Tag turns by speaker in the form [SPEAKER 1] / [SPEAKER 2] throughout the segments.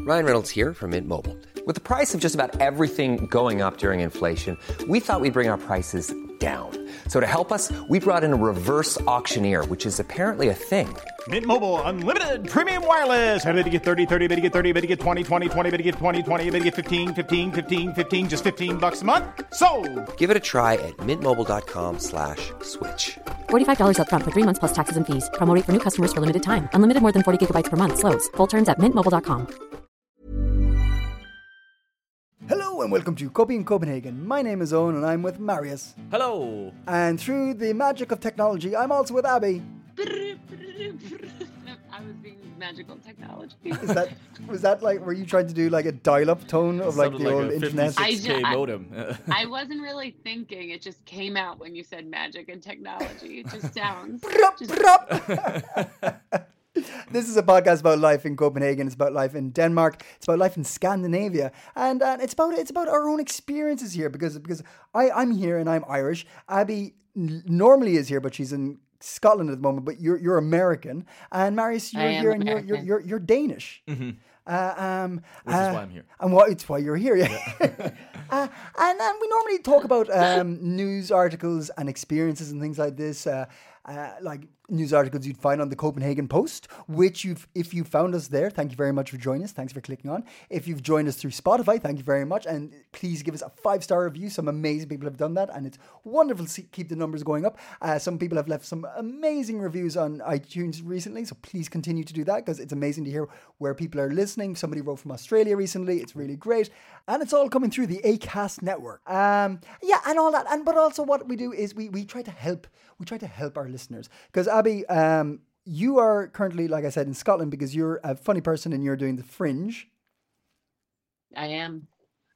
[SPEAKER 1] Ryan Reynolds here from Mint Mobile. With the price of just about everything going up during inflation, we thought we'd bring our prices down. So to help us, we brought in a reverse auctioneer, which is apparently a thing.
[SPEAKER 2] Mint Mobile Unlimited Premium Wireless. How to get 30, 30, bit to get 30, bit to get 20, 20, 20, bit to get 20, 20, bit to get 15, 15, 15, 15, just $15 a month? Sold!
[SPEAKER 1] Give it a try at mintmobile.com/switch.
[SPEAKER 3] $45 up front for 3 months plus taxes and fees. Promo rate for new customers for limited time. Unlimited more than 40 gigabytes per month. Slows full terms at mintmobile.com.
[SPEAKER 4] Hello and welcome to Copy in Copenhagen. My name is Owen and I'm with Marius.
[SPEAKER 5] Hello.
[SPEAKER 4] And through the magic of technology, I'm also with Abby.
[SPEAKER 6] I was being magical technology.
[SPEAKER 4] Was that like, were you trying to do like a dial-up tone of like the old internet?
[SPEAKER 5] 56K modem.
[SPEAKER 6] I wasn't really thinking. It just came out when you said magic and technology. It just sounds.
[SPEAKER 4] This is a podcast about life in Copenhagen. It's about life in Denmark. It's about life in Scandinavia, and it's about our own experiences here. Because I'm here and I'm Irish. Abby normally is here, but she's in Scotland at the moment. But you're American, and Marius, you're here and you're Danish.
[SPEAKER 5] Mm-hmm. Which is why I'm here.
[SPEAKER 4] And it's why you're here, yeah. And we normally talk about news articles and experiences and things like this. Like news articles you'd find on the Copenhagen Post, which if you found us there, thank you very much for joining us. Thanks for clicking on. If you've joined us through Spotify, thank you very much. And please give us a 5-star review. Some amazing people have done that, and it's wonderful to keep the numbers going up. Some people have left some amazing reviews on iTunes recently, so please continue to do that because it's amazing to hear where people are listening. Somebody wrote from Australia recently. It's really great. And it's all coming through the Acast network. And all that. But also what we do is we try to help. We try to help our listeners. Because Abby, you are currently, like I said, in Scotland because you're a funny person and you're doing the Fringe.
[SPEAKER 6] I am.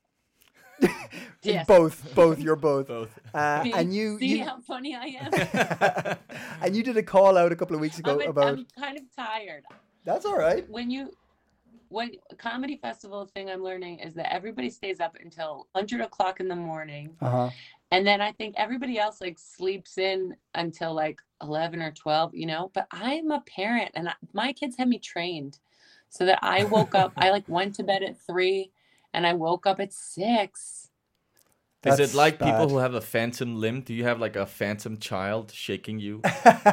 [SPEAKER 6] Yes.
[SPEAKER 4] Both. You're both.
[SPEAKER 5] Both.
[SPEAKER 4] And
[SPEAKER 6] see how funny I am.
[SPEAKER 4] And you did a call out a couple of weeks ago about.
[SPEAKER 6] I'm kind of tired.
[SPEAKER 4] That's all right.
[SPEAKER 6] When comedy festival thing I'm learning is that everybody stays up until 100 o'clock in the morning.
[SPEAKER 4] Uh-huh.
[SPEAKER 6] And then I think everybody else like sleeps in until like 11 or 12, but I'm a parent and my kids had me trained so that I woke up, I like went to bed at 3 and I woke up at 6.
[SPEAKER 5] Is it like bad. People who have a phantom limb? Do you have like a phantom child shaking you?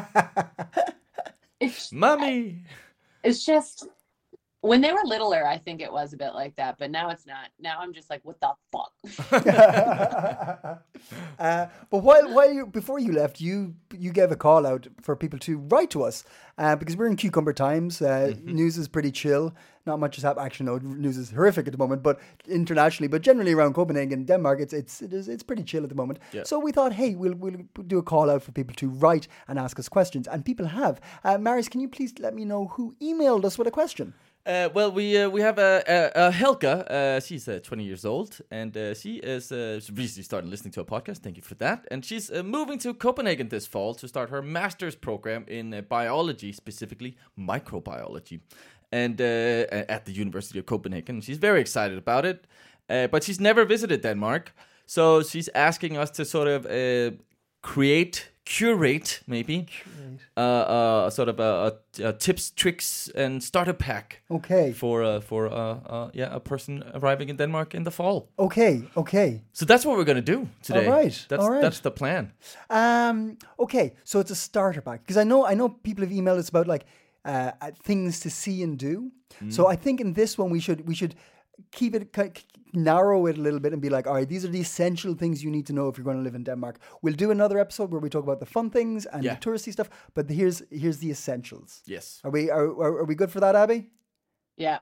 [SPEAKER 5] Mommy!
[SPEAKER 6] It's just, when they were littler, I think it was a bit like that, but now it's not. Now I'm just like, what the fuck?
[SPEAKER 4] But before you left, you gave a call out for people to write to us because we're in cucumber times. News is pretty chill. Not much is happening. Actually, no, news is horrific at the moment, but internationally, but generally around Copenhagen, Denmark, it's pretty chill at the moment. Yeah. So we thought, hey, we'll do a call out for people to write and ask us questions, and people have. Marius, can you please let me know who emailed us with a question?
[SPEAKER 5] Well, we have a Helga. She's 20 years old, and she is recently started listening to a podcast. Thank you for that. And she's moving to Copenhagen this fall to start her master's program in biology, specifically microbiology, and at the University of Copenhagen. She's very excited about it, but she's never visited Denmark, so she's asking us to sort of curate sort of a tips, tricks, and starter pack.
[SPEAKER 4] Okay.
[SPEAKER 5] For a person arriving in Denmark in the fall.
[SPEAKER 4] Okay.
[SPEAKER 5] So that's what we're going to do today.
[SPEAKER 4] All right.
[SPEAKER 5] That's the plan.
[SPEAKER 4] Okay. So it's a starter pack because I know people have emailed us about like things to see and do. So I think in this one we should keep it, narrow it a little bit and be like, all right, these are the essential things you need to know if you're going to live in Denmark. We'll do another episode where we talk about the fun things and the touristy stuff, but here's the essentials.
[SPEAKER 5] Yes.
[SPEAKER 4] Are we good for that, Abby?
[SPEAKER 6] Yeah.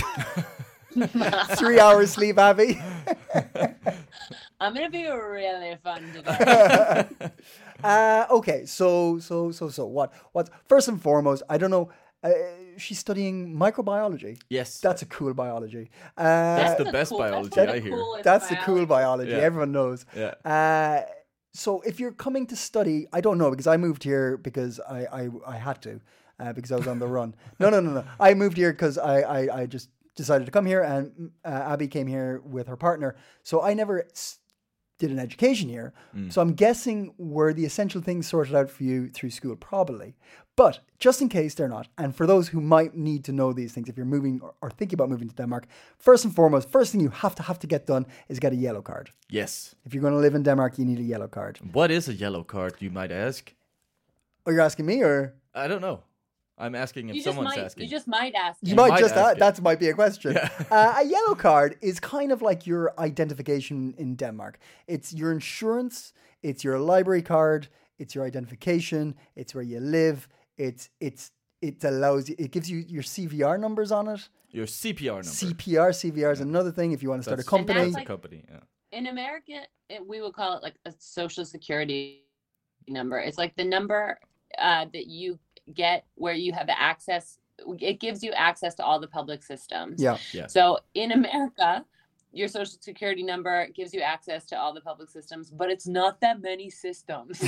[SPEAKER 4] 3 hours sleep, Abby.
[SPEAKER 6] I'm gonna be really fun today.
[SPEAKER 4] Okay, so what? First and foremost, I don't know. She's studying microbiology.
[SPEAKER 5] Yes.
[SPEAKER 4] That's a cool biology.
[SPEAKER 5] That's the best biology, I hear.
[SPEAKER 4] That's the cool biology. Yeah. Everyone knows.
[SPEAKER 5] Yeah.
[SPEAKER 4] So if you're coming to study, I don't know, because I moved here because I had to, because I was on the run. No. I moved here because I just decided to come here, and Abby came here with her partner. So I never did an education here. So I'm guessing were the essential things sorted out for you through school? Probably. But just in case they're not, and for those who might need to know these things, if you're moving or thinking about moving to Denmark, first and foremost, first thing you have to get done is get a yellow card.
[SPEAKER 5] Yes.
[SPEAKER 4] If you're going to live in Denmark, you need a yellow card.
[SPEAKER 5] What is a yellow card, you might ask?
[SPEAKER 4] Oh, you're asking me, or?
[SPEAKER 5] I don't know. I'm asking if someone's asking.
[SPEAKER 6] You just might ask.
[SPEAKER 4] You might just
[SPEAKER 5] ask it.
[SPEAKER 4] that might be a question. A yellow card is kind of like your identification in Denmark. It's your insurance, it's your library card, it's your identification, it's where you live. It allows you. It gives you your CVR numbers on it.
[SPEAKER 5] Your CPR number.
[SPEAKER 4] CVR is another thing if you want to start a company.
[SPEAKER 6] And that's
[SPEAKER 5] a company. Yeah.
[SPEAKER 6] In America, we would call it like a social security number. It's like the number that you get where you have access. It gives you access to all the public systems.
[SPEAKER 4] Yeah.
[SPEAKER 6] So in America, your social security number gives you access to all the public systems, but it's not that many systems.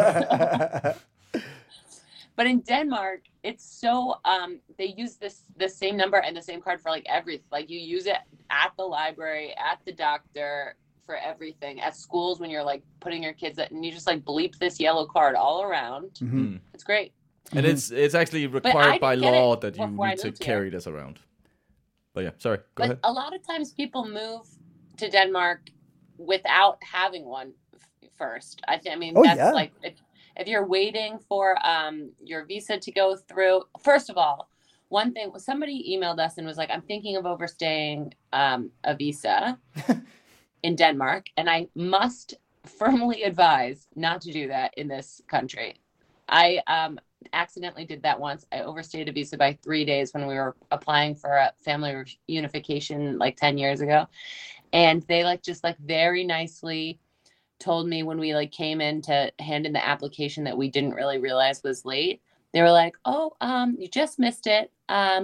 [SPEAKER 6] But in Denmark, it's so they use the same number and the same card for like everything. Like you use it at the library, at the doctor, for everything. At schools when you're like putting your kids and you just like bleep this yellow card all around.
[SPEAKER 4] Mm-hmm.
[SPEAKER 6] It's great.
[SPEAKER 5] And it's actually required by law that you need to carry this around. But yeah, sorry. Go ahead.
[SPEAKER 6] A lot of times people move to Denmark without having one first. I mean, that's like if you're waiting for your visa to go through. First of all, one thing, somebody emailed us and was like, I'm thinking of overstaying a visa in Denmark, and I must firmly advise not to do that in this country. I accidentally did that once. I overstayed a visa by 3 days when we were applying for a family reunification like 10 years ago. And they just very nicely told me when we came in to hand in the application that we didn't really realize was late. They were like, oh, you just missed it.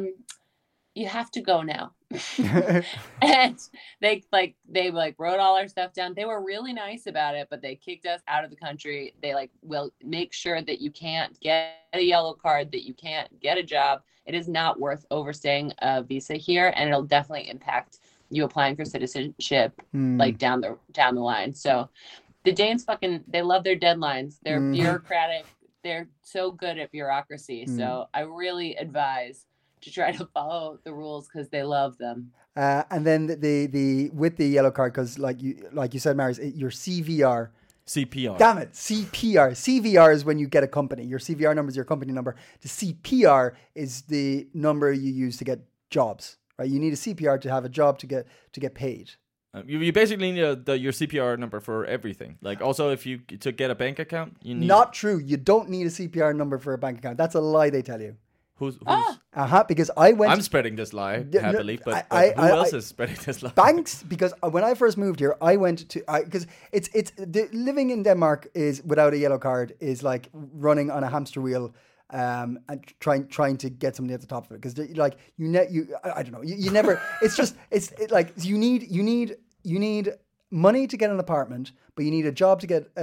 [SPEAKER 6] You have to go now. And they wrote all our stuff down. They were really nice about it, but they kicked us out of the country. They will make sure that you can't get a yellow card, that you can't get a job. It is not worth overstaying a visa here, and it'll definitely impact you applying for citizenship down the line. So the Danes they love their deadlines. They're bureaucratic. They're so good at bureaucracy. So I really advise to try to follow the rules because they love them.
[SPEAKER 4] And then the with the yellow card, because like you said, Marius, your CVR.
[SPEAKER 5] CPR.
[SPEAKER 4] Damn it, CPR. CVR is when you get a company. Your CVR number is your company number. The CPR is the number you use to get jobs. Right? You need a CPR to have a job to get paid.
[SPEAKER 5] You basically need your CPR number for everything. Like also if you to get a bank account, you need.
[SPEAKER 4] Not true. You don't need a CPR number for a bank account. That's a lie they tell you.
[SPEAKER 5] Who's
[SPEAKER 4] because I went.
[SPEAKER 5] I'm spreading this lie happily, but who else is spreading this lie?
[SPEAKER 4] Banks, because when I first moved here, I went to because living in Denmark is without a yellow card is like running on a hamster wheel. And trying to get something at the top of it, because I don't know, you never. You need money to get an apartment, but you need a job to get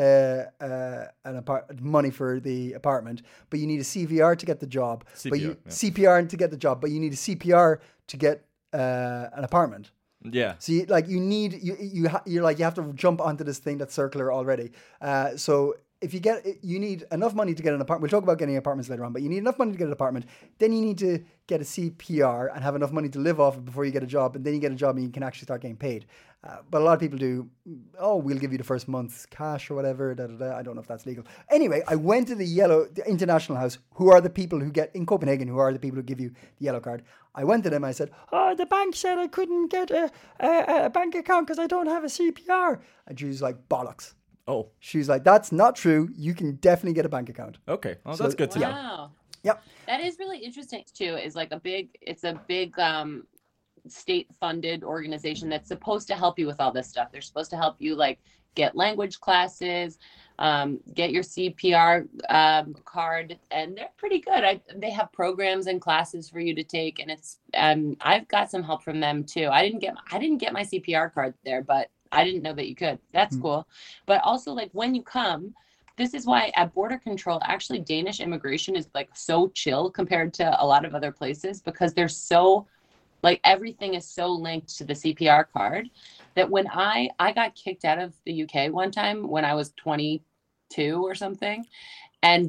[SPEAKER 4] money for the apartment, but you need a CVR to get the job, CPR to get the job, but you need a CPR to get an apartment.
[SPEAKER 5] Yeah.
[SPEAKER 4] So you have to jump onto this thing that's circular already. So. If you need enough money to get an apartment. We'll talk about getting apartments later on, but you need enough money to get an apartment. Then you need to get a CPR and have enough money to live off it before you get a job. And then you get a job and you can actually start getting paid. But a lot of people do, we'll give you the first month's cash or whatever. I don't know if that's legal. Anyway, I went to the International House, who are the people who get, in Copenhagen, who are the people who give you the yellow card. I went to them and I said, the bank said I couldn't get a bank account because I don't have a CPR. And she was like, bollocks.
[SPEAKER 5] Oh.
[SPEAKER 4] She's like, that's not true. You can definitely get a bank account.
[SPEAKER 5] Okay. Well, that's good to know.
[SPEAKER 6] Wow.
[SPEAKER 4] Yep.
[SPEAKER 6] That is really interesting too. It's a big state-funded organization that's supposed to help you with all this stuff. They're supposed to help you get language classes, get your CPR card, and they're pretty good. They have programs and classes for you to take, and it's I've got some help from them too. I didn't get my CPR card there, but I didn't know that you could. That's cool. But also when you come, this is why at border control, actually Danish immigration is so chill compared to a lot of other places, because they're so everything is so linked to the CPR card. that when I got kicked out of the UK one time when I was 22 or something, and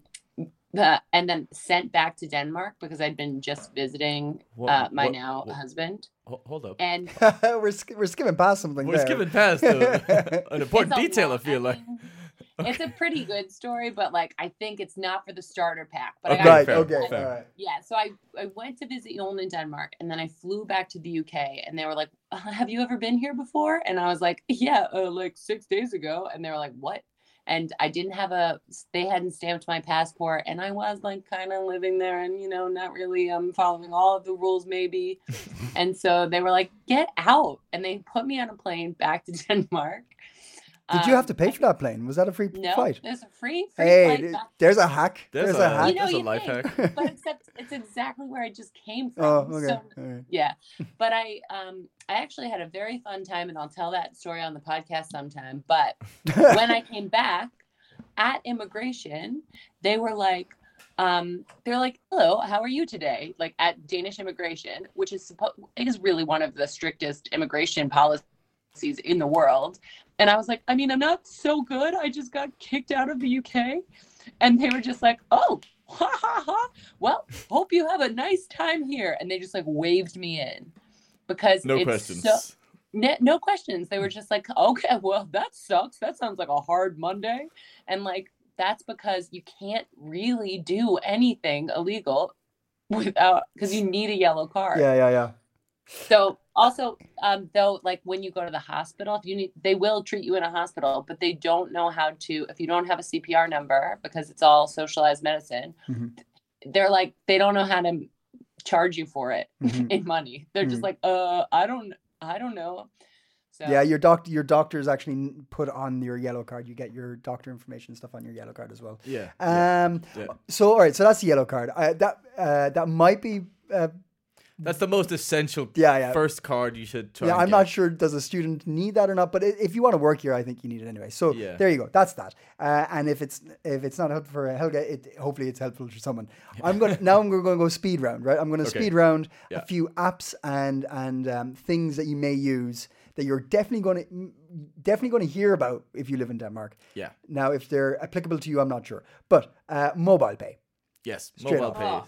[SPEAKER 6] then sent back to Denmark because I'd been just visiting my husband.
[SPEAKER 5] Hold up.
[SPEAKER 6] And
[SPEAKER 4] we're skipping past something.
[SPEAKER 5] We're skipping past an important detail. I feel like
[SPEAKER 6] it's a pretty good story, but like I think it's not for the starter pack. But
[SPEAKER 5] okay,
[SPEAKER 4] all right.
[SPEAKER 6] Yeah, so I went to visit Jon in Denmark, and then I flew back to the UK, and they were like, "Have you ever been here before?" And I was like, "Yeah, like 6 days ago." And they were like, "What?" And I didn't have they hadn't stamped my passport, and I was like kind of living there and, not really following all of the rules maybe. And so they were like, "Get out." And they put me on a plane back to Denmark.
[SPEAKER 4] Did you have to pay for that plane? Was that a free flight?
[SPEAKER 6] No, there's a free
[SPEAKER 4] hey,
[SPEAKER 6] flight back.
[SPEAKER 4] There's a hack. There's a hack.
[SPEAKER 5] There's a life hack.
[SPEAKER 6] But except it's exactly where I just came from.
[SPEAKER 4] Oh, okay.
[SPEAKER 6] So,
[SPEAKER 4] right.
[SPEAKER 6] yeah. But I actually had a very fun time, and I'll tell that story on the podcast sometime. But when I came back at immigration, they were like, "Hello, how are you today?" Like at Danish immigration, which is really one of the strictest immigration policies in the world. And I was like, I mean, I'm not so good. I just got kicked out of the UK. And they were just like, "Oh, ha ha ha. Well, hope you have a nice time here." And they just like waved me in because
[SPEAKER 5] no questions.
[SPEAKER 6] No questions. They were just like, "Okay, well, that sucks. That sounds like a hard Monday." And like, that's because you can't really do anything illegal because you need a yellow card.
[SPEAKER 4] Yeah.
[SPEAKER 6] So also, though, like when you go to the hospital, they will treat you in a hospital, but they don't know how to, if you don't have a CPR number, because it's all socialized medicine, they're like, they don't know how to charge you for it in money. They're just like, I don't know. So.
[SPEAKER 4] Yeah, your doctors actually put on your yellow card. You get your doctor information stuff on your yellow card as well.
[SPEAKER 5] Yeah.
[SPEAKER 4] So all right, so that's the yellow card. That might be.
[SPEAKER 5] That's the most essential first card you should try.
[SPEAKER 4] Yeah, I'm not sure does a student need that or not, but if you want to work here, I think you need it anyway. So there you go. That's that. And if it's not helpful for Helga, hopefully it's helpful for someone. I'm going to go speed round, right? I'm going to speed round a few apps and things that you may use that you're definitely going to hear about if you live in Denmark.
[SPEAKER 5] Yeah.
[SPEAKER 4] Now, if they're applicable to you, I'm not sure. But mobile pay.
[SPEAKER 5] Yes,
[SPEAKER 4] straight
[SPEAKER 5] mobile pay.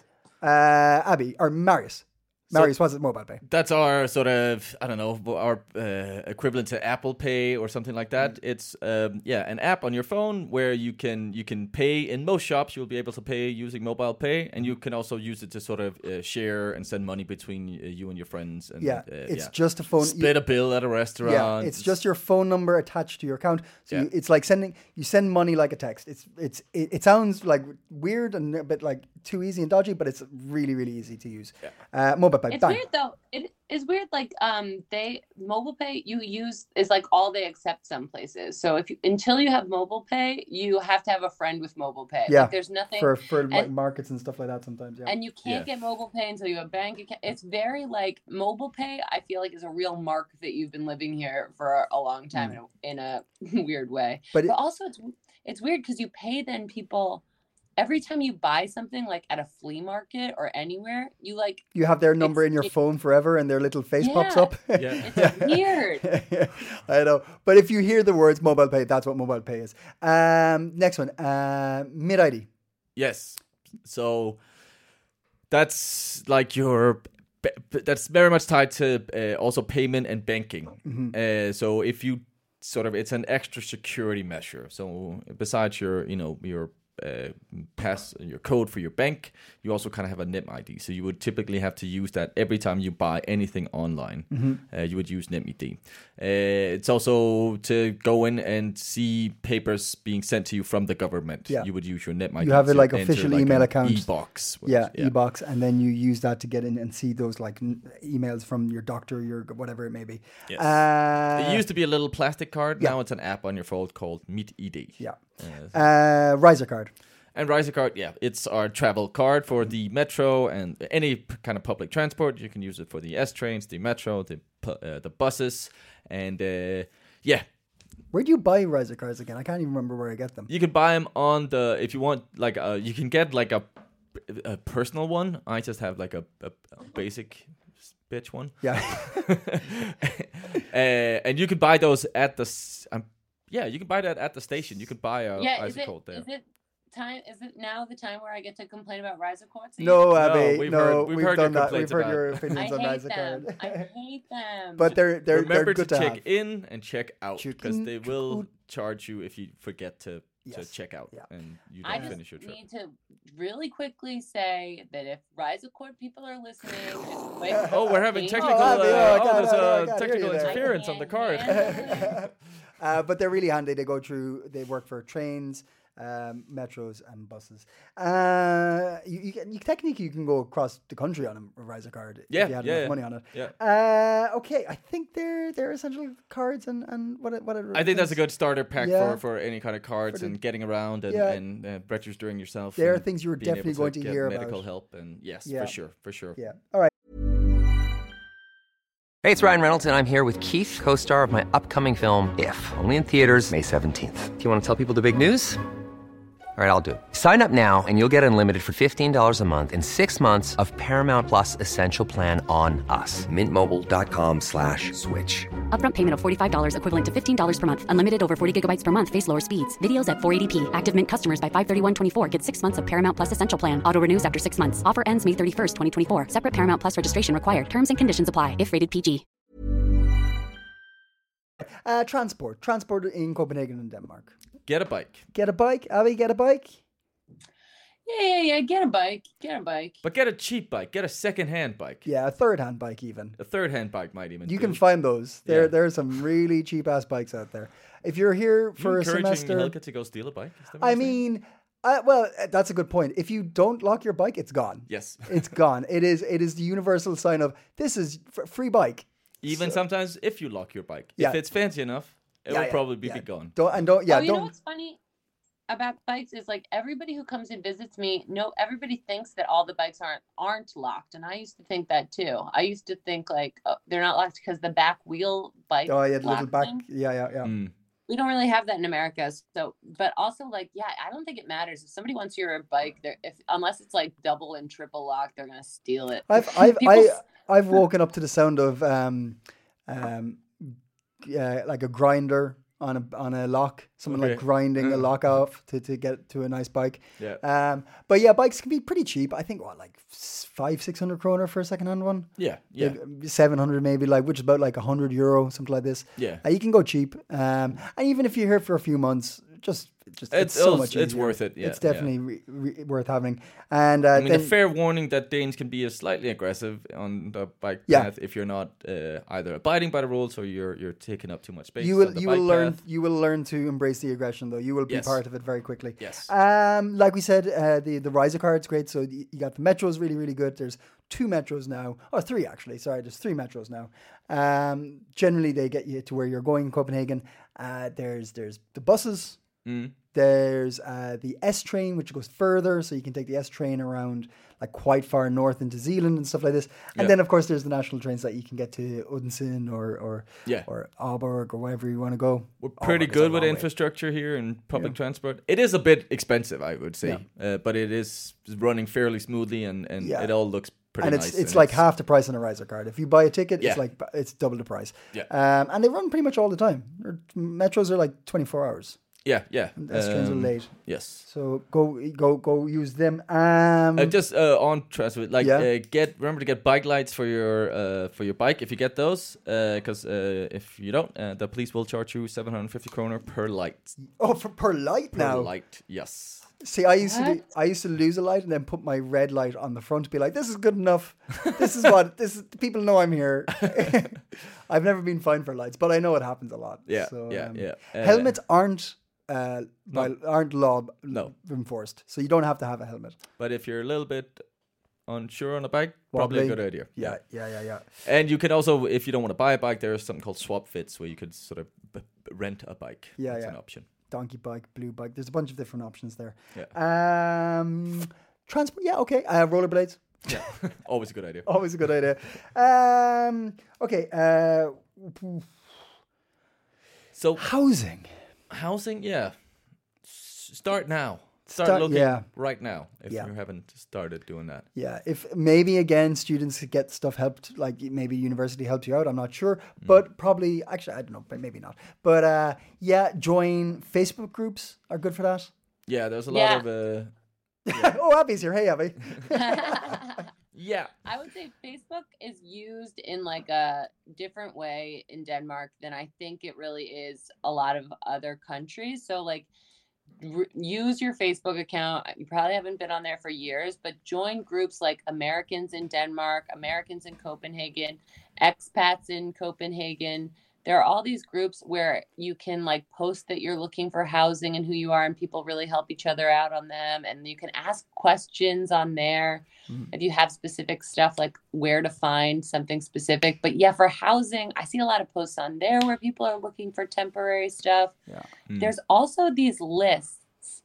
[SPEAKER 4] Abby or Marius. Marius, what's it mobile pay?
[SPEAKER 5] That's our sort of, I don't know, our equivalent to Apple Pay or something like that. It's an app on your phone where you can pay. In most shops, you'll be able to pay using mobile pay, and you can also use it to sort of share and send money between you and your friends. And,
[SPEAKER 4] it's just a phone.
[SPEAKER 5] Split a bill at a restaurant.
[SPEAKER 4] Yeah, it's just your phone number attached to your account. So it's like you send money like a text. It sounds like weird and a bit like too easy and dodgy, but it's really, really easy to use. Mobile pay.
[SPEAKER 6] It's weird though. It is weird. Like mobile pay you use is like all they accept some places. So until you have mobile pay, you have to have a friend with mobile pay.
[SPEAKER 4] Yeah.
[SPEAKER 6] Like, there's nothing
[SPEAKER 4] for like markets and stuff like that sometimes. Yeah.
[SPEAKER 6] And you can't get mobile pay until you have a bank account. It's very like mobile pay. I feel like is a real mark that you've been living here for a long time in a weird way. But also it's weird because you pay then people. Every time you buy something like at a flea market or anywhere, you have their number in your phone forever and their little face pops up.
[SPEAKER 4] It's
[SPEAKER 6] weird.
[SPEAKER 4] I know. But if you hear the words mobile pay, that's what mobile pay is. Next one, MidID.
[SPEAKER 5] Yes. So that's like that's very much tied to also payment and banking. So if you it's an extra security measure. So besides your pass your code for your bank, you also kind of have a NemID. So you would typically have to use that every time you buy anything online. You would use NemID. It's also to go in and see papers being sent to you from the government.
[SPEAKER 4] Yeah.
[SPEAKER 5] You would use your NemID.
[SPEAKER 4] You have a official email account.
[SPEAKER 5] E-box.
[SPEAKER 4] E-box, and then you use that to get in and see those emails from your doctor, your whatever it may be.
[SPEAKER 5] Yes. It used to be a little plastic card. Now it's an app on your phone called MitID.
[SPEAKER 4] Yeah. Riser card.
[SPEAKER 5] And Riser card, it's our travel card for the metro and any kind of public transport. You can use it for the S trains, the metro, the buses, and
[SPEAKER 4] Where do you buy Riser cards again? I can't even remember where I get them.
[SPEAKER 5] You can buy them on if you want, you can get like a personal one. I just have like a basic bitch one.
[SPEAKER 4] Yeah.
[SPEAKER 5] And you can buy those at the. You can buy that at the station. You can buy a Riser-Colt there.
[SPEAKER 6] Is it now the time where I get to complain about Riser-Courts?
[SPEAKER 4] No, Abby.
[SPEAKER 5] we've
[SPEAKER 4] We've
[SPEAKER 5] heard
[SPEAKER 4] done
[SPEAKER 5] your
[SPEAKER 4] that. We've heard
[SPEAKER 5] complaints
[SPEAKER 4] your
[SPEAKER 5] about-
[SPEAKER 4] opinions on
[SPEAKER 6] I
[SPEAKER 4] Riser-Card.
[SPEAKER 6] hate them.
[SPEAKER 4] But they're
[SPEAKER 5] Remember
[SPEAKER 4] good
[SPEAKER 5] to check
[SPEAKER 4] have.
[SPEAKER 5] in and check out
[SPEAKER 4] Check
[SPEAKER 5] because
[SPEAKER 4] in,
[SPEAKER 5] they
[SPEAKER 4] check
[SPEAKER 5] will
[SPEAKER 4] out.
[SPEAKER 5] charge you if you forget to
[SPEAKER 4] Yes.
[SPEAKER 5] check out
[SPEAKER 4] Yeah.
[SPEAKER 5] and you
[SPEAKER 6] I
[SPEAKER 5] don't
[SPEAKER 6] just
[SPEAKER 5] finish your trip.
[SPEAKER 6] need to really quickly say that if Riser-Court people are listening, just wait.
[SPEAKER 5] Oh, we're having technical.
[SPEAKER 4] Abby,
[SPEAKER 5] There's
[SPEAKER 4] I can't
[SPEAKER 5] technical
[SPEAKER 4] hear you there.
[SPEAKER 5] interference on the card.
[SPEAKER 4] But they're really handy. They go through. They work for trains, metros, and buses. You technically you can go across the country on a Riser-Card if you had enough money on it.
[SPEAKER 5] Yeah.
[SPEAKER 4] Okay, I think they're essential cards and what it
[SPEAKER 5] I think that's a good starter pack
[SPEAKER 4] Yeah.
[SPEAKER 5] for any kind of cards and getting around and registering yourself.
[SPEAKER 4] There are
[SPEAKER 5] and
[SPEAKER 4] things you were
[SPEAKER 5] being
[SPEAKER 4] definitely
[SPEAKER 5] able
[SPEAKER 4] going to
[SPEAKER 5] get
[SPEAKER 4] hear
[SPEAKER 5] medical
[SPEAKER 4] about.
[SPEAKER 5] help and yes,
[SPEAKER 4] Yeah.
[SPEAKER 5] for sure.
[SPEAKER 4] Yeah. All right.
[SPEAKER 1] Hey, it's Ryan Reynolds, and I'm here with Keith, co-star of my upcoming film, If, only in theaters May 17th. Do you want to tell people the big news? All right, I'll do it. Sign up now and you'll get unlimited for $15 a month and 6 months of Paramount Plus Essential Plan on us. MintMobile.com/switch.
[SPEAKER 3] Upfront payment of $45 equivalent to $15 per month. Unlimited over 40 gigabytes per month. Face lower speeds. Videos at 480p. Active Mint customers by 531.24 get 6 months of Paramount Plus Essential Plan. Auto renews after 6 months. Offer ends May 31st, 2024. Separate Paramount Plus registration required. Terms and conditions apply if rated PG.
[SPEAKER 4] Transport in Copenhagen and Denmark.
[SPEAKER 5] Get a bike.
[SPEAKER 4] Get a bike, Abby. Get a bike.
[SPEAKER 6] Yeah. Get a bike.
[SPEAKER 5] But get a cheap bike. Get a second-hand bike.
[SPEAKER 4] Yeah, a third-hand bike even.
[SPEAKER 5] A third-hand bike might even
[SPEAKER 4] You
[SPEAKER 5] do.
[SPEAKER 4] can find those.
[SPEAKER 5] Yeah.
[SPEAKER 4] There are some really cheap ass bikes out there. If you're here for a
[SPEAKER 5] encouraging
[SPEAKER 4] semester,
[SPEAKER 5] Helga to go steal a bike? Is that what
[SPEAKER 4] I
[SPEAKER 5] you're saying?
[SPEAKER 4] mean, that's a good point. If you don't lock your bike, it's gone.
[SPEAKER 5] Yes.
[SPEAKER 4] It's gone. It is the universal sign of this is free bike.
[SPEAKER 5] Even sometimes if you lock your bike.
[SPEAKER 4] Yeah.
[SPEAKER 5] If it's fancy enough, it will probably be gone.
[SPEAKER 4] Don't.
[SPEAKER 6] You know
[SPEAKER 4] Don't.
[SPEAKER 6] what's funny about bikes is like everybody who comes and visits me, everybody thinks that all the bikes aren't locked, and I used to think that too. I used to think like they're not locked because the back wheel bike.
[SPEAKER 4] Oh yeah, the little back.
[SPEAKER 6] thing.
[SPEAKER 4] Yeah.
[SPEAKER 5] Mm.
[SPEAKER 6] We don't really have that in America. So, but also like, I don't think it matters if somebody wants your bike. Unless it's like double and triple lock, they're gonna steal it.
[SPEAKER 4] I've woken up to the sound of like a grinder on a lock. Someone like grinding a lock off to get to a nice bike.
[SPEAKER 5] Yeah.
[SPEAKER 4] But yeah, bikes can be pretty cheap. I think like 500-600 kroner for a second-hand one.
[SPEAKER 5] Yeah.
[SPEAKER 4] Like 700 maybe, like, which is about like €100, something like this.
[SPEAKER 5] Yeah.
[SPEAKER 4] You can go cheap. And even if you're here for a few months, it's so much easier.
[SPEAKER 5] It's worth it. Yeah,
[SPEAKER 4] it's definitely worth having. And
[SPEAKER 5] I mean, a fair warning that Danes can be slightly aggressive on the bike path if you're not either abiding by the rules or you're taking up too much space.
[SPEAKER 4] You will learn to embrace the aggression, though. You will be part of it very quickly.
[SPEAKER 5] Yes.
[SPEAKER 4] Like we said, the Riser-Card's great. So you got the metros, really, really good. There's 2 metros now, or 3 actually. Sorry, there's 3 metros now. Generally, they get you to where you're going in Copenhagen. There's the buses. There's the S train, which goes further, so you can take the S train around like quite far north into Zealand and stuff like this. And then, of course, there's the national trains that you can get to Odense or Aalborg or wherever you want to go.
[SPEAKER 5] We're pretty good with infrastructure here and public transport. It is a bit expensive, I would say, but it is running fairly smoothly and it all looks pretty
[SPEAKER 4] and
[SPEAKER 5] nice.
[SPEAKER 4] It's like half the price on a Riser-Card. If you buy a ticket, it's double the price.
[SPEAKER 5] Yeah.
[SPEAKER 4] And they run pretty much all the time. Metros are like 24 hours.
[SPEAKER 5] Yeah.
[SPEAKER 4] S trains are late.
[SPEAKER 5] Yes.
[SPEAKER 4] So go use them.
[SPEAKER 5] Just on transport, remember to get bike lights for your bike if you get those, because if you don't, the police will charge you 750 kroner per light.
[SPEAKER 4] Oh, per light now.
[SPEAKER 5] Per light, yes.
[SPEAKER 4] See, I used to lose a light and then put my red light on the front to be like, this is good enough. This is people know I'm here. I've never been fined for lights, but I know it happens a lot.
[SPEAKER 5] Yeah.
[SPEAKER 4] So,
[SPEAKER 5] yeah.
[SPEAKER 4] Helmets aren't law enforced, so you don't have to have a helmet.
[SPEAKER 5] But if you're a little bit unsure on a bike, probably a good idea.
[SPEAKER 4] Yeah.
[SPEAKER 5] And you can also, if you don't want to buy a bike, there's something called swap fits where you could sort of rent a bike. That's an option.
[SPEAKER 4] Donkey bike, blue bike. There's a bunch of different options there.
[SPEAKER 5] Yeah.
[SPEAKER 4] Transport. Yeah. Okay. Rollerblades.
[SPEAKER 5] Yeah. Always a good idea.
[SPEAKER 4] Always a good idea. Okay.
[SPEAKER 5] So
[SPEAKER 4] housing.
[SPEAKER 5] Housing, yeah. Start now. Start looking
[SPEAKER 4] yeah.
[SPEAKER 5] right now if
[SPEAKER 4] Yeah.
[SPEAKER 5] you haven't started doing that.
[SPEAKER 4] Yeah, if maybe again students could get stuff helped, like maybe university helped you out. I'm not sure, but probably actually I don't know, but maybe not. But yeah, join Facebook groups are good for that.
[SPEAKER 5] Yeah, there's a
[SPEAKER 6] Yeah.
[SPEAKER 5] lot of
[SPEAKER 4] Oh, Abby's here. Hey, Abby.
[SPEAKER 5] yeah.
[SPEAKER 6] I would say Facebook is used in like a different way in Denmark than I think it really is a lot of other countries. So like use your Facebook account. You probably haven't been on there for years, but join groups like Americans in Denmark, Americans in Copenhagen, expats in Copenhagen. There are all these groups where you can like post that you're looking for housing and who you are, and people really help each other out on them. And you can ask questions on there if you have specific stuff like where to find something specific. But yeah, for housing, I see a lot of posts on there where people are looking for temporary stuff.
[SPEAKER 4] Yeah.
[SPEAKER 6] There's also these lists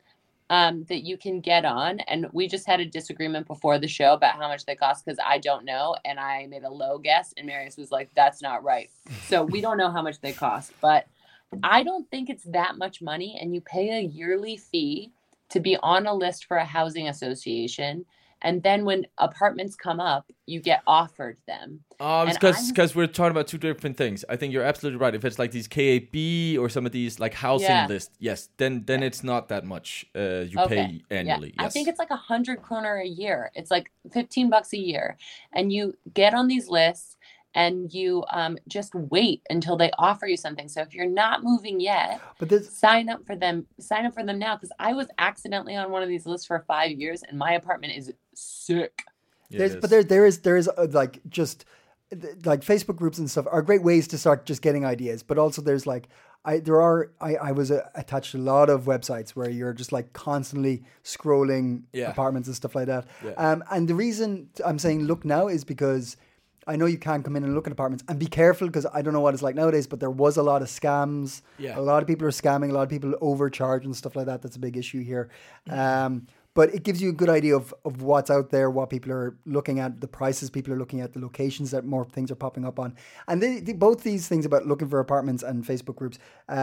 [SPEAKER 6] that you can get on, and we just had a disagreement before the show about how much they cost because I don't know, and I made a low guess, and Marius was like, "That's not right." So we don't know how much they cost, but I don't think it's that much money, and you pay a yearly fee to be on a list for a housing association. And then when apartments come up, you get offered them. And
[SPEAKER 5] Because we're talking about two different things. I think you're absolutely right. If it's like these KAB or some of these like housing lists, yes, then it's not that much you pay annually.
[SPEAKER 6] Yeah.
[SPEAKER 5] Yes.
[SPEAKER 6] I think it's like 100 kroner a year. It's like $15 a year. And you get on these lists and you just wait until they offer you something. So if you're not moving yet, sign up for them. Sign up for them now, because I was accidentally on one of these lists for 5 years, and my apartment is sick.
[SPEAKER 4] But there is like just like Facebook groups and stuff are great ways to start just getting ideas. But also there's like I was attached to a lot of websites where you're just like constantly scrolling apartments and stuff like that.
[SPEAKER 5] Yeah.
[SPEAKER 4] And the reason I'm saying look now is because I know you can come in and look at apartments, and be careful, because I don't know what it's like nowadays, but there was a lot of scams.
[SPEAKER 5] Yeah.
[SPEAKER 4] A lot of people are scamming. A lot of people overcharge and stuff like that. That's a big issue here. But it gives you a good idea of what's out there, what people are looking at, the prices people are looking at, the locations that more things are popping up on. And both these things about looking for apartments and Facebook groups,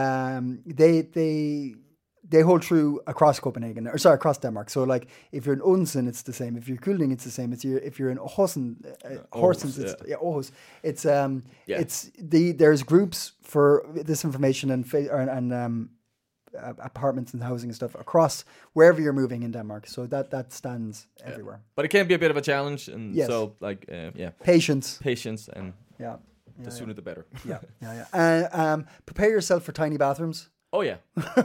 [SPEAKER 4] they hold true across Copenhagen, across Denmark. So like if you're in Odense, it's the same. If you're Kolding, it's the same. If you're in Horsens, Aarhus, there's groups for this information and apartments and housing and stuff across wherever you're moving in Denmark. So that stands everywhere.
[SPEAKER 5] But it can be a bit of a challenge, and so like patience, and the sooner the better.
[SPEAKER 4] Prepare yourself for tiny bathrooms.
[SPEAKER 5] Oh yeah.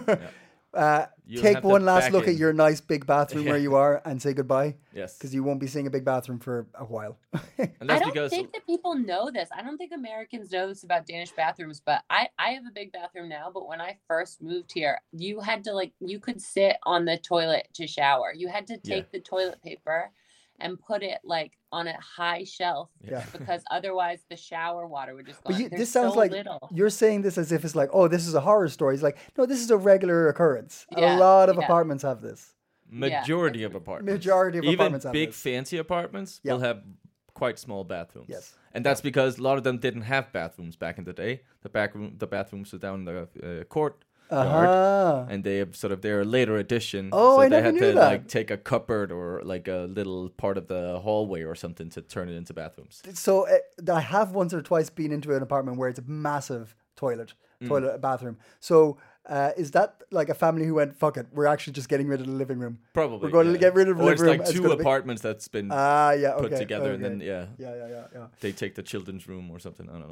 [SPEAKER 4] Take one last look at your nice big bathroom where you are and say goodbye.
[SPEAKER 5] Yes.
[SPEAKER 4] Because you won't be seeing a big bathroom for a while.
[SPEAKER 6] And I don't think that people know this. I don't think Americans know this about Danish bathrooms, but I have a big bathroom now. But when I first moved here, you had to you could sit on the toilet to shower. You had to take the toilet paper and put it like on a high shelf because otherwise the shower water would just go.
[SPEAKER 4] But this sounds like you're saying this as if it's like, oh, this is a horror story. It's like, no, this is a regular occurrence.
[SPEAKER 6] Yeah,
[SPEAKER 4] a lot of apartments have this.
[SPEAKER 5] Majority of apartments.
[SPEAKER 4] Even
[SPEAKER 5] big fancy apartments will have quite small bathrooms.
[SPEAKER 4] Yes.
[SPEAKER 5] And that's because a lot of them didn't have bathrooms back in the day. The bathrooms were down in the court. And they have they're a later addition.
[SPEAKER 4] Oh,
[SPEAKER 5] so
[SPEAKER 4] I
[SPEAKER 5] they
[SPEAKER 4] never
[SPEAKER 5] had
[SPEAKER 4] knew
[SPEAKER 5] to
[SPEAKER 4] that.
[SPEAKER 5] like take a cupboard or like a little part of the hallway or something to turn it into bathrooms.
[SPEAKER 4] So I have once or twice been into an apartment where it's a massive bathroom. So is that like a family who went, fuck it, we're actually just getting rid of the living room?
[SPEAKER 5] Probably.
[SPEAKER 4] We're going to get rid of the living room.
[SPEAKER 5] It's like two apartments that's been put together, and then they take the children's room or something. I don't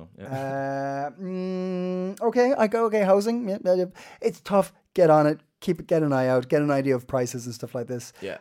[SPEAKER 5] know.
[SPEAKER 4] Housing. Yeah, it's tough. Get on it. Get an eye out. Get an idea of prices and stuff like this.
[SPEAKER 5] Yeah.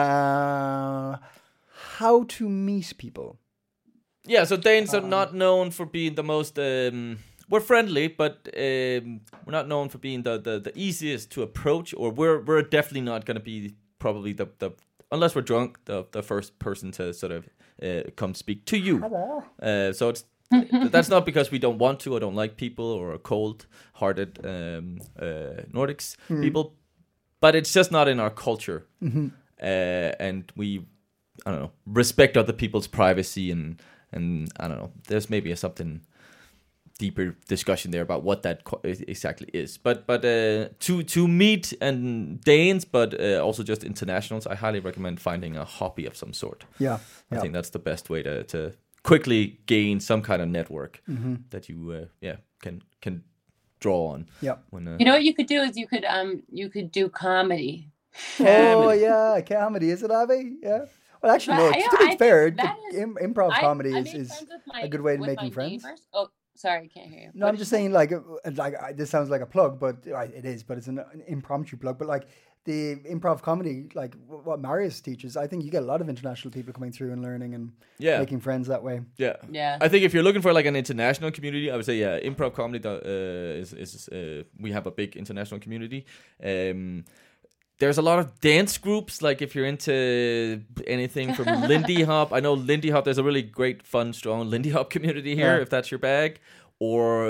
[SPEAKER 4] How to meet people.
[SPEAKER 5] Yeah, so Danes are not known for being the most. We're friendly, but we're not known for being the easiest to approach, or we're definitely not going to be probably the unless we're drunk, the first person to sort of come speak to you.
[SPEAKER 4] Hello.
[SPEAKER 5] So that's not because we don't want to or don't like people or are cold-hearted Nordics people, but it's just not in our culture.
[SPEAKER 4] Mm-hmm.
[SPEAKER 5] And we, I don't know, respect other people's privacy and I don't know. There's maybe something deeper discussion there about what that exactly is. But to meet and Danes, but also just internationals, I highly recommend finding a hobby of some sort.
[SPEAKER 4] Yeah.
[SPEAKER 5] I think that's the best way to quickly gain some kind of network that you can draw on.
[SPEAKER 4] Yeah.
[SPEAKER 5] When,
[SPEAKER 6] You know what you could do is you could do comedy.
[SPEAKER 4] Oh yeah, comedy, is it, Abby? Yeah. Well, actually, no. To be fair, improv comedy is a good way to making friends.
[SPEAKER 6] Neighbors. Oh, sorry, I can't hear you.
[SPEAKER 4] No, I'm just saying, like this sounds like a plug, but it is. But it's an impromptu plug. But like the improv comedy, like what Marius teaches, I think you get a lot of international people coming through and learning and making friends that way.
[SPEAKER 5] Yeah,
[SPEAKER 6] yeah.
[SPEAKER 5] I think if you're looking for like an international community, I would say improv comedy is we have a big international community. There's a lot of dance groups, like if you're into anything from Lindy Hop. I know Lindy Hop, there's a really great, fun, strong Lindy Hop community here, if that's your bag. Or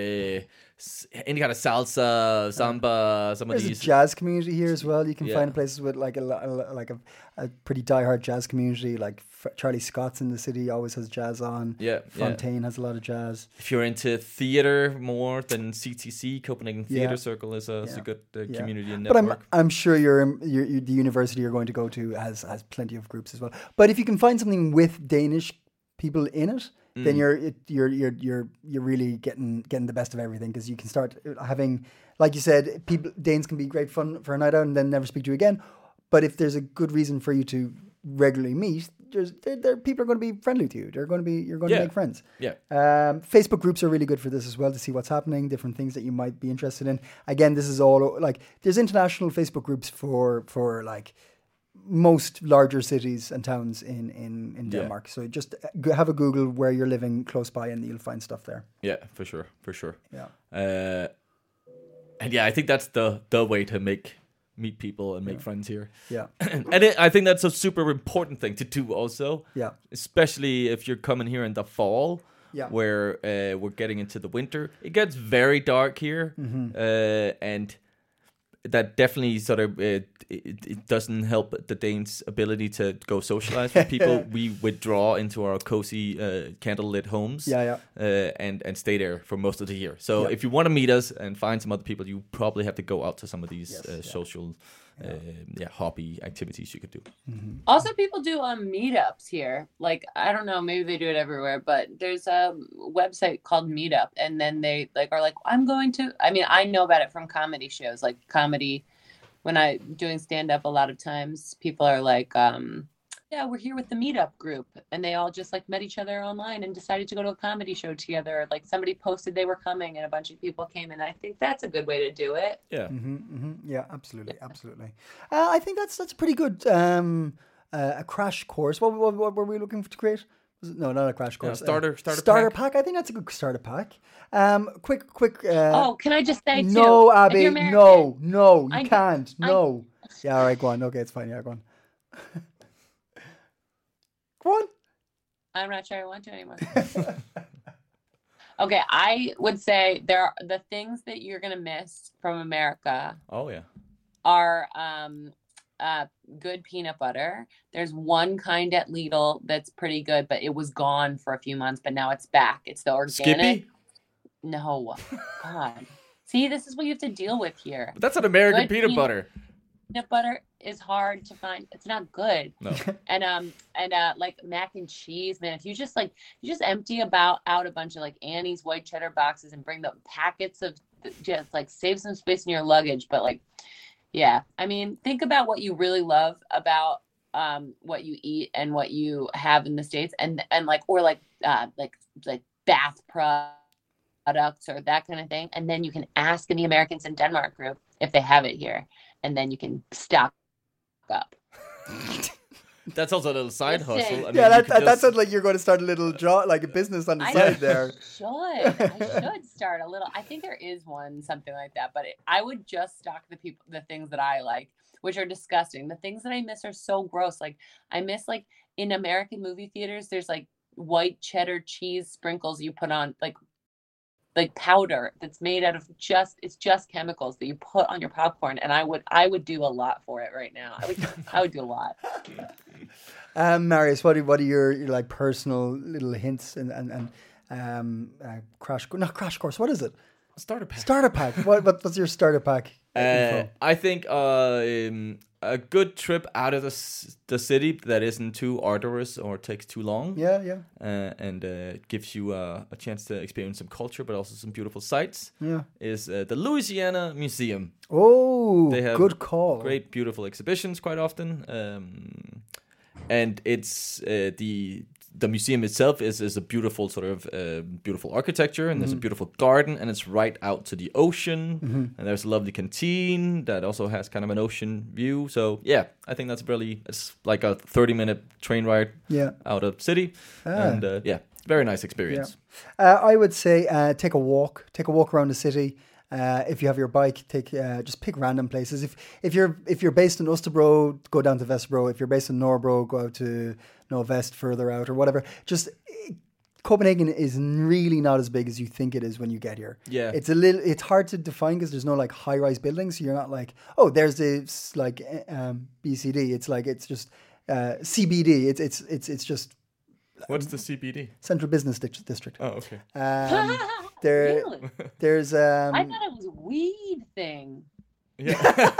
[SPEAKER 5] any kind of salsa, samba, some of
[SPEAKER 4] There's
[SPEAKER 5] these.
[SPEAKER 4] a jazz community here as well. You can find places with like a pretty diehard jazz community. Like Charlie Scott's in the city always has jazz on. Fontaine has a lot of jazz.
[SPEAKER 5] If you're into theater more than CTC, Copenhagen Theater Circle is a good community and network.
[SPEAKER 4] But I'm sure the university you're going to go to has plenty of groups as well. But if you can find something with Danish people in it, then you're really getting the best of everything, because you can start having, like you said, Danes can be great fun for a night out and then never speak to you again. But if there's a good reason for you to regularly meet, people are going to be friendly to you. You're going to make friends.
[SPEAKER 5] Yeah.
[SPEAKER 4] Facebook groups are really good for this as well, to see what's happening, different things that you might be interested in. Again, this is all like there's international Facebook groups for like most larger cities and towns in Denmark. So just have a Google where you're living close by, and you'll find stuff there.
[SPEAKER 5] Yeah, for sure.
[SPEAKER 4] Yeah.
[SPEAKER 5] And yeah, I think that's the way to meet people and make friends here.
[SPEAKER 4] Yeah.
[SPEAKER 5] And I think that's a super important thing to do also.
[SPEAKER 4] Yeah.
[SPEAKER 5] Especially if you're coming here in the fall.
[SPEAKER 4] Yeah.
[SPEAKER 5] Where we're getting into the winter. It gets very dark here. And that definitely sort of it doesn't help the Danes' ability to go socialize with people. We withdraw into our cozy candlelit homes, and stay there for most of the year. So if you want to meet us and find some other people, you probably have to go out to some of these social hobby activities you could do.
[SPEAKER 6] Also, people do meetups here. Like, I don't know, maybe they do it everywhere, but there's a website called Meetup, and then they are like, I'm going to. I mean, I know about it from comedy shows, like comedy. When I'm doing stand up, a lot of times people are like, we're here with the Meetup group, and they all just like met each other online and decided to go to a comedy show together. Like somebody posted they were coming, and a bunch of people came, and I think that's a good way to do it.
[SPEAKER 5] Yeah.
[SPEAKER 4] Yeah, absolutely. I think that's a pretty good a crash course. What were we looking to create? No, not a crash course.
[SPEAKER 5] Starter
[SPEAKER 4] pack. I think that's a good starter pack. Quick.
[SPEAKER 6] Can I just say
[SPEAKER 4] no,
[SPEAKER 6] too?
[SPEAKER 4] Abby, no, you can't. No. Yeah, all right, go on. Okay, it's fine. Yeah, go on. Go on.
[SPEAKER 6] I'm not sure I want to anymore. Okay, I would say there are the things that you're gonna miss from America.
[SPEAKER 5] Oh yeah.
[SPEAKER 6] Are good peanut butter. There's one kind at Lidl that's pretty good, but it was gone for a few months, but now it's back. It's the organic.
[SPEAKER 5] Skippy?
[SPEAKER 6] No. God. See, this is what you have to deal with here.
[SPEAKER 5] But that's an American peanut butter.
[SPEAKER 6] Peanut butter is hard to find. It's not good.
[SPEAKER 5] No.
[SPEAKER 6] And like mac and cheese, man, if you just empty out a bunch of like Annie's white cheddar boxes and bring the packets of just like save some space in your luggage, but like yeah, I mean, think about what you really love about what you eat and what you have in the States, and like bath products or that kind of thing, and then you can ask in the Americans in Denmark group if they have it here, and then you can stock up.
[SPEAKER 5] That's also a little side hustle.
[SPEAKER 4] That sounds like you're going to start a little like a business on the side there.
[SPEAKER 6] I should start a little. I think there is something like that, but I would just stock the things that I like, which are disgusting. The things that I miss are so gross. Like I miss like in American movie theaters, there's like white cheddar cheese sprinkles you put on like powder that's made out of it's just chemicals that you put on your popcorn, and I would do a lot for it right now. I would do a lot.
[SPEAKER 4] Marius, what are your like personal little hints and not crash course. What is it?
[SPEAKER 5] Starter pack.
[SPEAKER 4] Starter pack. What's your starter pack? info?
[SPEAKER 5] I think a good trip out of the city that isn't too arduous or takes too long.
[SPEAKER 4] Yeah.
[SPEAKER 5] And gives you a chance to experience some culture, but also some beautiful sights.
[SPEAKER 4] Yeah.
[SPEAKER 5] Is the Louisiana Museum.
[SPEAKER 4] Oh,
[SPEAKER 5] They have
[SPEAKER 4] good call.
[SPEAKER 5] Great, beautiful exhibitions quite often. And it's the museum itself is a beautiful sort of beautiful architecture, and there's a beautiful garden, and it's right out to the ocean, and there's a lovely canteen that also has kind of an ocean view. So yeah, I think it's like a 30-minute train ride out of city, and very nice experience.
[SPEAKER 4] Yeah. I would say take a walk around the city. If you have your bike, just pick random places. If you're based in Osterbro, go down to Vesterbro. If you're based in Norbro, go out to Novest further out or whatever. Just Copenhagen is really not as big as you think it is when you get here. Yeah, it's hard to define because there's no like high-rise buildings. So you're not like, oh, there's this like BCD. It's just CBD. It's just.
[SPEAKER 5] What's the CBD?
[SPEAKER 4] Central Business District.
[SPEAKER 5] Oh, okay.
[SPEAKER 6] Really?
[SPEAKER 4] There's
[SPEAKER 6] I thought it was a weed thing.
[SPEAKER 5] Yeah.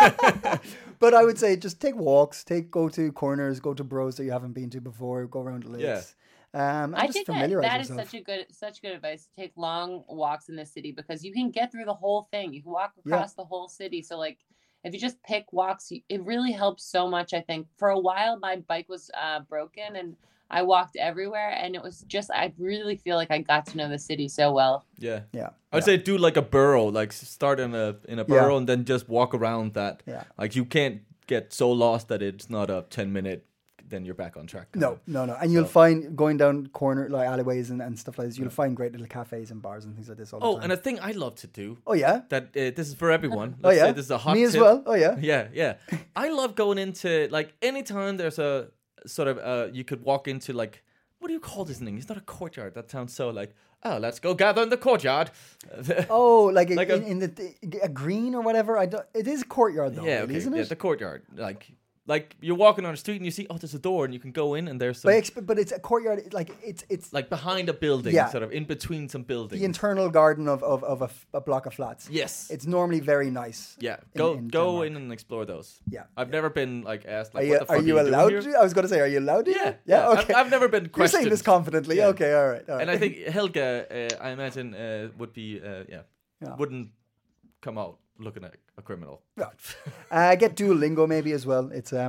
[SPEAKER 4] But I would say just take walks, go to corners, go to bros that you haven't been to before, go around the lakes.
[SPEAKER 6] Yeah.
[SPEAKER 4] I think that
[SPEAKER 6] is such good advice. Take long walks in the city because you can get through the whole thing. You can walk across the whole city. So like if you just pick walks, it really helps so much. I think for a while my bike was broken and I walked everywhere, and it was just, I really feel like I got to know the city so well.
[SPEAKER 5] Yeah. I'd say do like a burrow, like start in a burrow and then just walk around that. Yeah. Like you can't get so lost that it's not a 10-minute, then you're back on track.
[SPEAKER 4] No. And you'll find going down corner, like alleyways and stuff like this, you'll find great little cafes and bars and things like this all the time.
[SPEAKER 5] Oh, and a thing I love to do.
[SPEAKER 4] Oh, yeah?
[SPEAKER 5] That this is for everyone.
[SPEAKER 4] Let's say
[SPEAKER 5] this is a hot
[SPEAKER 4] Me
[SPEAKER 5] tip.
[SPEAKER 4] as well. Oh, yeah.
[SPEAKER 5] Yeah. I love going into, like, anytime there's a sort of, you could walk into, like, what do you call this thing? It's not a courtyard. That sounds so like, oh, let's go gather in the courtyard.
[SPEAKER 4] Oh, like in a green or whatever. It is a courtyard though, really, isn't it?
[SPEAKER 5] Yeah, the courtyard. Like you're walking on the street and you see, oh, there's a door and you can go in and there's some.
[SPEAKER 4] But it's a courtyard. Like it's
[SPEAKER 5] like behind a building, sort of in between some buildings.
[SPEAKER 4] The internal garden of a block of flats.
[SPEAKER 5] Yes,
[SPEAKER 4] it's normally very nice.
[SPEAKER 5] Yeah, go in and explore those.
[SPEAKER 4] Yeah,
[SPEAKER 5] I've never been like asked. Like,
[SPEAKER 4] what the fuck are you allowed to? I was going to say, are you allowed to?
[SPEAKER 5] Yeah.
[SPEAKER 4] Okay.
[SPEAKER 5] I've never been questioned.
[SPEAKER 4] You're saying this confidently. Yeah. Okay, all right.
[SPEAKER 5] And I think Helga, I imagine, would be wouldn't come out looking like a criminal.
[SPEAKER 4] Yeah. Get Duolingo maybe as well.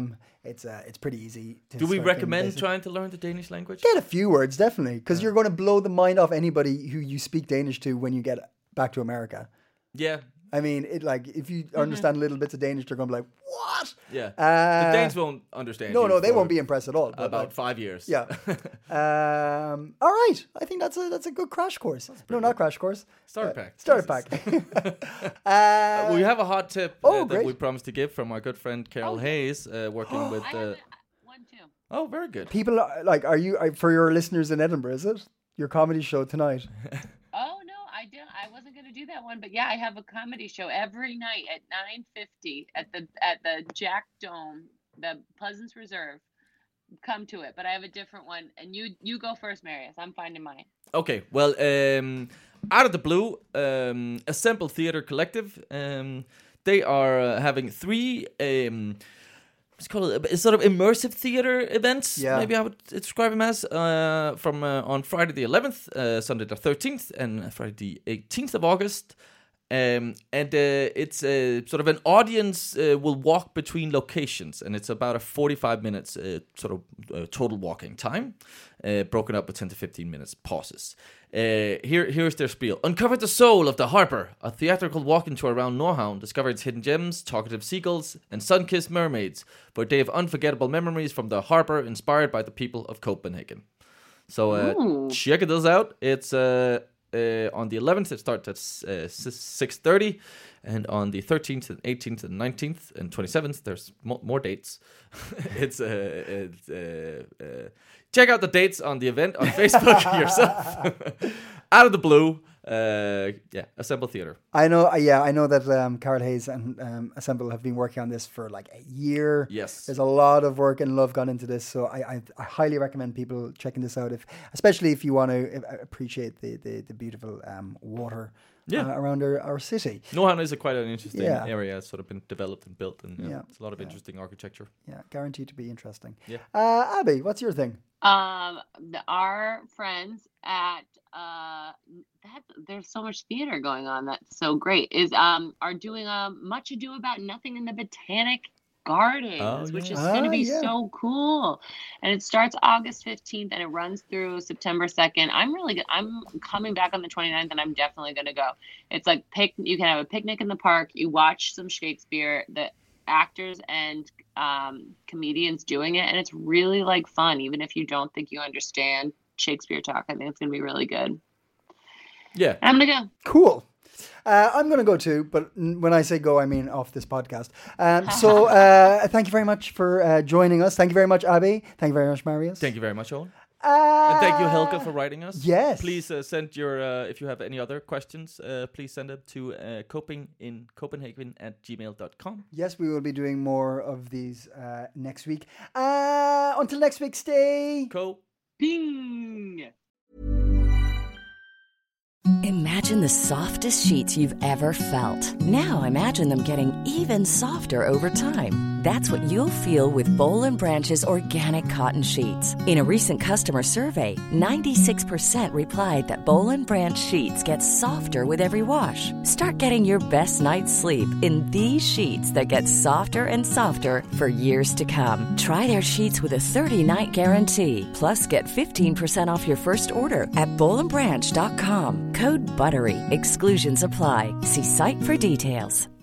[SPEAKER 4] It's pretty easy.
[SPEAKER 5] Do we recommend trying to learn the Danish language?
[SPEAKER 4] Get a few words, definitely, because you're going to blow the mind off anybody who you speak Danish to when you get back to America.
[SPEAKER 5] Yeah.
[SPEAKER 4] I mean, if you understand little bits of Danish, they're going to be like, what?
[SPEAKER 5] Yeah. The Danes won't understand.
[SPEAKER 4] No, they won't be impressed at all.
[SPEAKER 5] About 5 years.
[SPEAKER 4] Yeah. All right. I think that's a good crash course. No, not crash course.
[SPEAKER 5] Starter pack.
[SPEAKER 4] Starter pack.
[SPEAKER 5] We have a hot tip that we promised to give from our good friend Carol Hayes, working with.
[SPEAKER 6] I have one too.
[SPEAKER 5] Oh, very good.
[SPEAKER 4] People are you for your listeners in Edinburgh? Is it your comedy show tonight?
[SPEAKER 6] Oh no, I wasn't going to do that one, but yeah, I have a comedy show every night at 9:50 at the Jack Dome, the Pleasance Reserve. Come to it, but I have a different one, and you go first, Marius. I'm finding mine.
[SPEAKER 5] Okay, well, out of the blue, Assemble Theatre Collective, they are having 3. Let's call it a sort of immersive theater events. Yeah. Maybe I would describe them as from on Friday the 11th, Sunday the 13th, and Friday the 18th of August. And it's sort of an audience will walk between locations, and it's about a 45 minutes sort of total walking time, broken up with 10 to 15 minutes pauses. Here's their spiel. Uncover the soul of the Harper, a theatrical walking tour around Nordhavn, discover its hidden gems, talkative seagulls, and sun-kissed mermaids for a day of unforgettable memories from the Harper, inspired by the people of Copenhagen. So check this out. It's on the 11th, it starts at 6:30, and on the 13th and 18th and 19th and 27th, there's more dates. It's check out the dates on the event on Facebook yourself. Out of the blue, Assemble Theatre.
[SPEAKER 4] I know. I know that Carol Hayes and Assemble have been working on this for like a year.
[SPEAKER 5] Yes.
[SPEAKER 4] There's a lot of work and love gone into this, so I highly recommend people checking this out, especially if you want to appreciate the beautiful water around our city.
[SPEAKER 5] Nohan is quite an interesting area. It's sort of been developed and built, and it's a lot of interesting architecture.
[SPEAKER 4] Yeah, guaranteed to be interesting.
[SPEAKER 5] Yeah.
[SPEAKER 4] Abby, what's your thing?
[SPEAKER 6] Our friends at there's so much theater going on that's so great are doing a Much Ado About Nothing in the Botanic Gardens, which is going to be so cool. And it starts August 15th and it runs through September 2nd. I'm coming back on the 29th and I'm definitely going to go. It's like you can have a picnic in the park. You watch some Shakespeare, the actors and comedians doing it, and it's really like fun, even if you don't think you understand Shakespeare talk. I think it's going to be really good.
[SPEAKER 5] Yeah.
[SPEAKER 6] And I'm going to go.
[SPEAKER 4] Cool. I'm going to go too, but when I say go, I mean off this podcast. So thank you very much for joining us. Thank you very much, Abby. Thank you very much, Marius.
[SPEAKER 5] Thank you very much, Owen. And thank you, Helga, for writing us.
[SPEAKER 4] Yes.
[SPEAKER 5] Please send your, if you have any other questions, please send them to copingincopenhagen@gmail.com.
[SPEAKER 4] Yes, we will be doing more of these next week. Until next week, stay
[SPEAKER 6] Ping!
[SPEAKER 7] Imagine the softest sheets you've ever felt. Now imagine them getting even softer over time. That's what you'll feel with Boll & Branch's organic cotton sheets. In a recent customer survey, 96% replied that Boll & Branch sheets get softer with every wash. Start getting your best night's sleep in these sheets that get softer and softer for years to come. Try their sheets with a 30-night guarantee. Plus, get 15% off your first order at bollandbranch.com. Code BUTTERY. Exclusions apply. See site for details.